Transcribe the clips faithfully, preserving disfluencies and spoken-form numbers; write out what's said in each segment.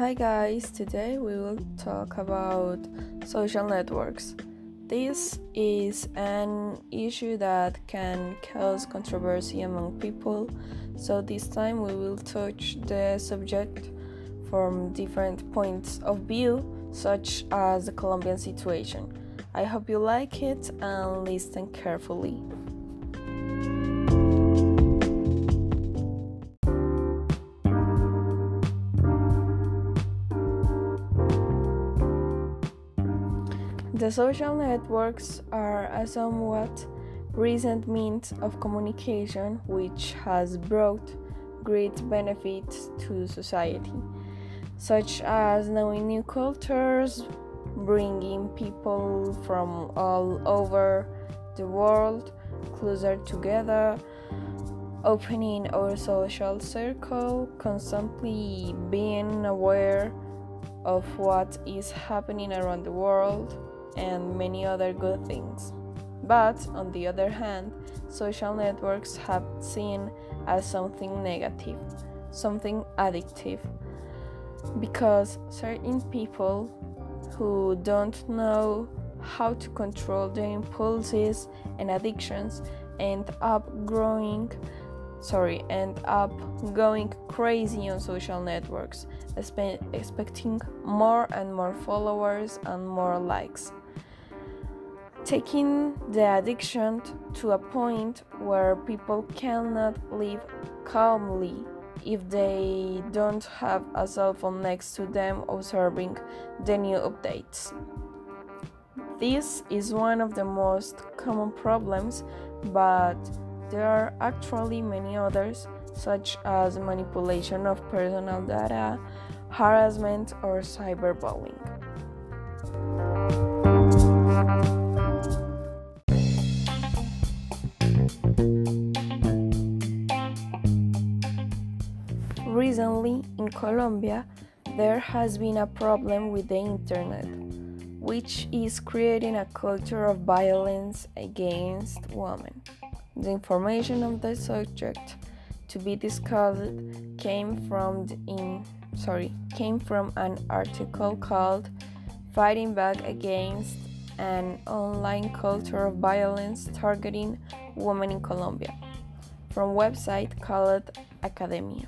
Hi guys, today we will talk about social networks. This is an issue that can cause controversy among people, so this time we will touch the subject from different points of view, such as the Colombian situation. I hope you like it and listen carefully. The social networks are a somewhat recent means of communication which has brought great benefits to society, such as knowing new cultures, bringing people from all over the world closer together, opening our social circle, constantly being aware of what is happening around the world, and many other good things. But on the other hand, social networks have seen as something negative, something addictive, because certain people who don't know how to control their impulses and addictions end up growing sorry end up going crazy on social networks, expe- expecting more and more followers and more likes, taking the addiction to a point where people cannot live calmly if they don't have a cell phone next to them observing the new updates. This is one of the most common problems, but there are actually many others, such as manipulation of personal data, harassment, or cyberbullying. Recently, in Colombia, there has been a problem with the internet, which is creating a culture of violence against women. The information on the subject to be discussed came from the in sorry came from an article called "Fighting Back Against an Online Culture of Violence Targeting Women in Colombia" from website called Academia.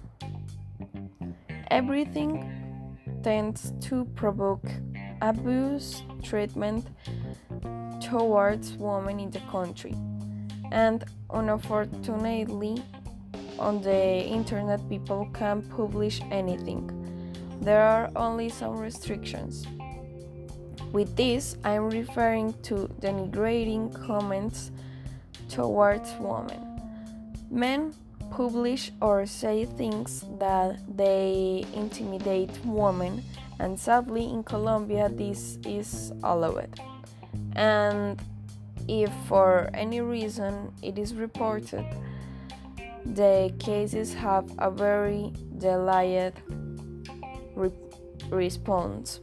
Everything tends to provoke abuse treatment towards women in the country. And unfortunately, on the internet, people can't publish anything. There are only some restrictions. With this, I'm referring to denigrating comments towards women. Men publish or say things that they intimidate women, and sadly, in Colombia, this is allowed. And if for any reason it is reported, the cases have a very delayed re- response.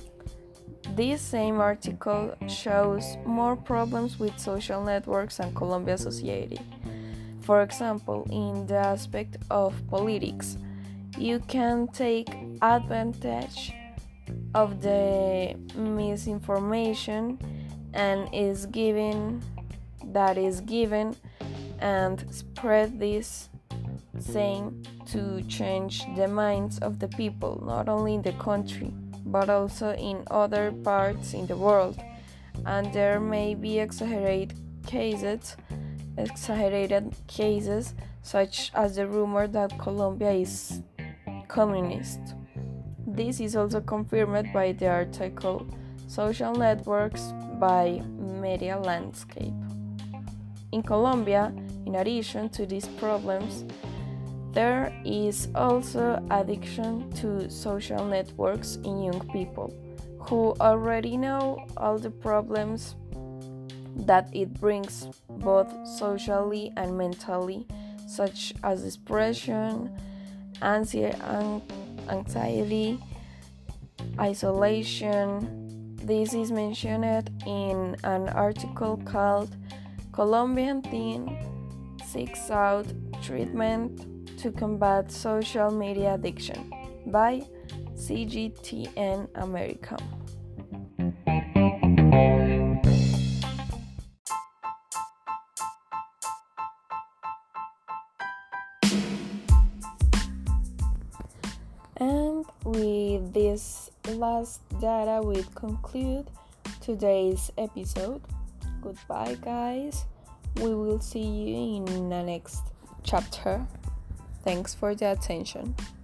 This same article shows more problems with social networks and Colombia society. For example, in the aspect of politics, you can take advantage of the misinformation and is given that is given and spread this saying to change the minds of the people, not only in the country but also in other parts in the world. And there may be exaggerated cases exaggerated cases such as the rumor that Colombia is communist. This is also confirmed by the article Social Networks by Media Landscape. In Colombia, in addition to these problems, there is also addiction to social networks in young people who already know all the problems that it brings both socially and mentally, such as depression, anxiety, isolation. This is mentioned in an article called Colombian Teen Seeks Out Treatment to Combat Social Media Addiction by C G T N America. And with this last data, we conclude today's episode. Goodbye, guys. We will see you in the next chapter. Thanks for the attention.